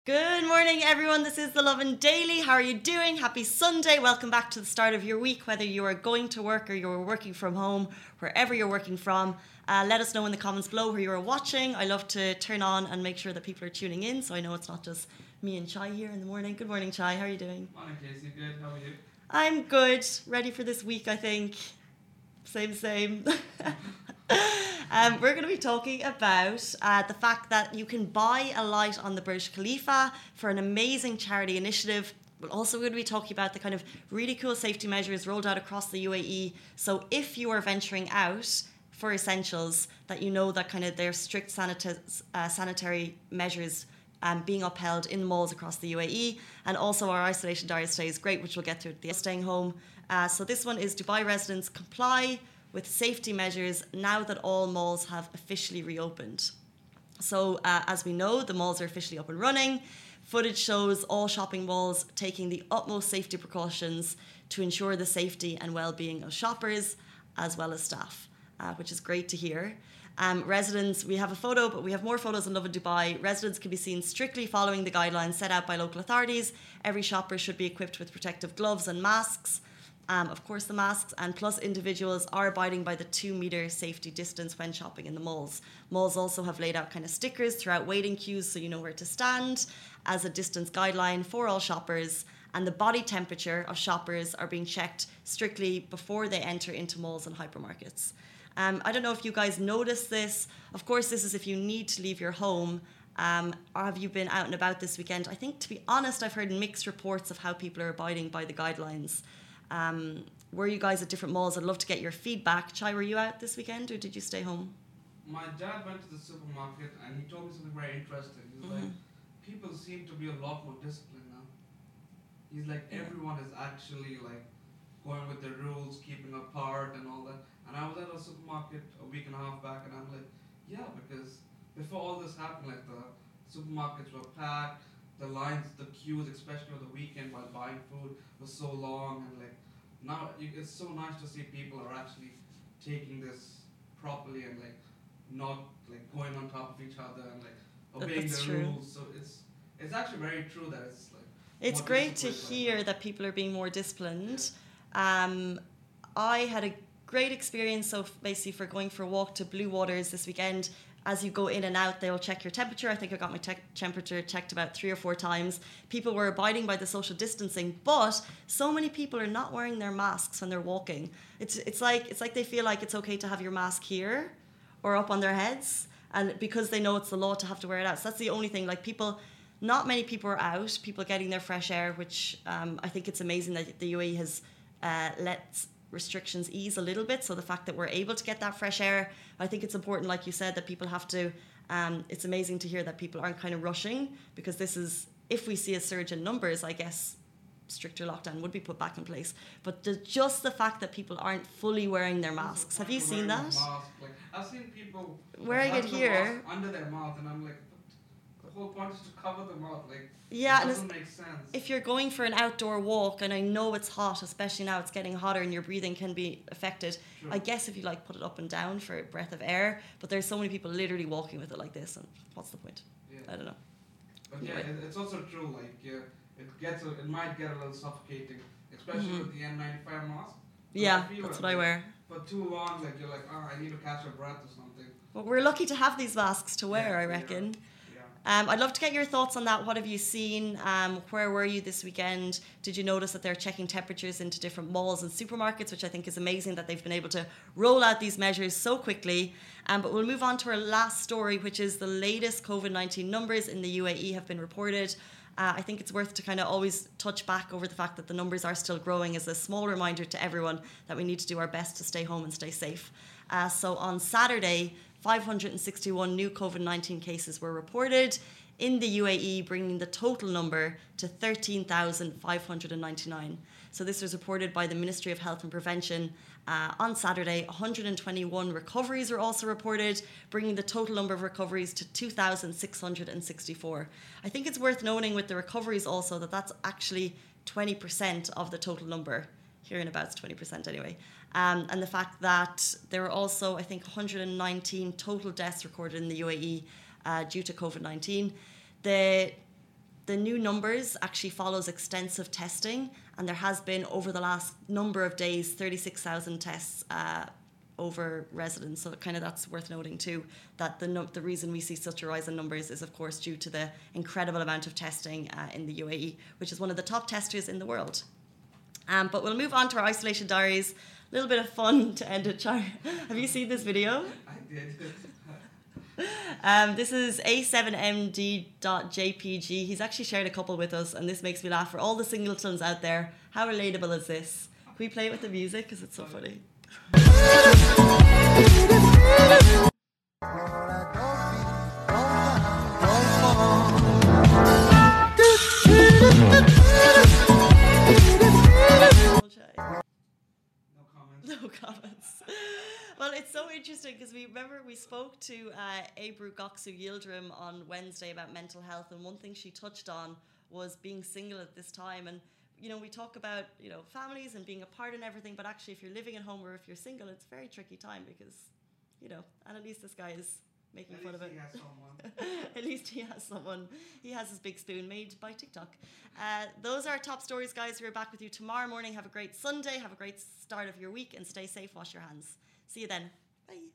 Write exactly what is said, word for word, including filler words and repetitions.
Good morning, everyone. This is the Lovin Daily. How are you doing? Happy Sunday. Welcome back to the start of your week, whether you are going to work or you're working from home, wherever you're working from. Uh, let us know in the comments below where you are watching. I love to turn on and make sure that people are tuning in, so I know it's not just me and Chai here in the morning. Good morning, Chai. How are you doing? Morning, Casey. Good. How are you? I'm good. Ready for this week, I think. Same, same. Um, we're going to be talking about uh, the fact that you can buy a light on the Burj Khalifa for an amazing charity initiative. We're also going to be talking about the kind of really cool safety measures rolled out across the U A E. So if you are venturing out for essentials, that you know that kind of their strict sanita- uh, sanitary measures um, being upheld in malls across the U A E. And also our isolation diary today is great, which we'll get to at the staying home. Uh, so this one is Dubai residents comply with safety measures now that all malls have officially reopened. So uh, as we know, the malls are officially up and running. Footage shows all shopping malls taking the utmost safety precautions to ensure the safety and well-being of shoppers as well as staff, uh, which is great to hear. Um, residents, we have a photo, but we have more photos in Lovin Dubai. Residents can be seen strictly following the guidelines set out by local authorities. Every shopper should be equipped with protective gloves and masks. Um, of course, the masks, and plus individuals are abiding by the two metre safety distance when shopping in the malls. Malls also have laid out kind of stickers throughout waiting queues so you know where to stand as a distance guideline for all shoppers, and the body temperature of shoppers are being checked strictly before they enter into malls and hypermarkets. Um, I don't know if you guys noticed this. Of course, this is if you need to leave your home. Um, or have you been out and about this weekend? I think, to be honest, I've heard mixed reports of how people are abiding by the guidelines. Um, were you guys at different malls? I'd love to get your feedback. Chai, were you out this weekend or did you stay home? My dad went to the supermarket and he told me something very interesting. He's Mm-hmm. like, people seem to be a lot more disciplined now. He's like, Yeah. everyone is actually like going with the rules, keeping apart and all that. And I was at a supermarket a week and a half back and I'm like, yeah, because before all this happened, like the supermarkets were packed, the lines, the queues, especially on the weekend while buying food, was so long, and like now you, it's so nice to see people are actually taking this properly and like not like going on top of each other and like obeying That's the true. rules. So it's it's actually very true that it's like It's more great to disciplined hear like that people are being more disciplined. Um, I had a great experience, so basically for going for a walk to Blue Waters this weekend. As you go in and out, they'll check your temperature. I think I got my te- temperature checked about three or four times. People were abiding by the social distancing, but so many people are not wearing their masks when they're walking. It's it's like it's like they feel like it's okay to have your mask here or up on their heads, and because they know it's the law to have to wear it out. So that's the only thing. Like people, not many people are out. People are getting their fresh air, which um, I think it's amazing that the U A E has uh, let restrictions ease a little bit. So the fact that we're able to get that fresh air, I think it's important, like you said, that people have to, um, it's amazing to hear that people aren't kind of rushing, because this is, if we see a surge in numbers, I guess stricter lockdown would be put back in place. But the, just the fact that people aren't fully wearing their masks. Have you seen that? Mask. Like, I've seen people Wearing have it the here. mask under their mouth, and I'm like, but the whole point is to cover the mouth. Like, Yeah, it and doesn't make sense. If you're going for an outdoor walk, and I know it's hot, especially now it's getting hotter and your breathing can be affected, True. I guess if you like put it up and down for a breath of air, but there's so many people literally walking with it like this, and what's the point? Yeah. I don't know. But yeah, Anyway. it, it's also true. Like, yeah, it gets, a, it might get a little suffocating, especially Mhm. with the N ninety-five mask. But Yeah, I feel that's like, what I wear. For too long, like you're like, oh, I need to catch a breath or something. But we're lucky to have these masks to wear, Yeah, I yeah. reckon. Yeah. Um, I'd love to get your thoughts on that. What have you seen? Um, where were you this weekend? Did you notice that they're checking temperatures into different malls and supermarkets, which I think is amazing that they've been able to roll out these measures so quickly. Um, but we'll move on to our last story, which is the latest COVID nineteen numbers in the U A E have been reported. Uh, I think it's worth to kind of always touch back over the fact that the numbers are still growing as a small reminder to everyone that we need to do our best to stay home and stay safe. Uh, so on Saturday, five hundred sixty-one new COVID nineteen cases were reported in the U A E, bringing the total number to thirteen thousand five hundred ninety-nine. So this was reported by the Ministry of Health and Prevention. Uh, on Saturday, one hundred twenty-one recoveries were also reported, bringing the total number of recoveries to two thousand six hundred sixty-four. I think it's worth noting with the recoveries also that that's actually twenty percent of the total number. Here in about twenty percent anyway. Um, and the fact that there were also, I think, one hundred nineteen total deaths recorded in the U A E uh, due to COVID nineteen. The the new numbers actually follows extensive testing, and there has been over the last number of days thirty-six thousand tests uh, over residents. So kind of that's worth noting too, that the no- the reason we see such a rise in numbers is of course due to the incredible amount of testing uh, in the U A E, which is one of the top testers in the world. Um, but we'll move on to our isolation diaries. A little bit of fun to end it, Char. Have you seen this video? I did. Um, this is A seven M D dot J P G. He's actually shared a couple with us, and this makes me laugh. For all the singletons out there, how relatable is this? Can we play it with the music? Because it's so funny. No comments. Well, it's so interesting because we remember we spoke to uh, Ebru Goksu Yildirim on Wednesday about mental health, and one thing she touched on was being single at this time. And you know, we talk about, you know, families and being apart and everything, but actually, if you're living at home or if you're single, it's a very tricky time because, you know, and at least this guy is making At fun of it. least he has someone. At least he has someone. He has his big spoon made by TikTok. Uh, those are our top stories, guys. We're back with you tomorrow morning. Have a great Sunday. Have a great start of your week and stay safe. Wash your hands. See you then. Bye.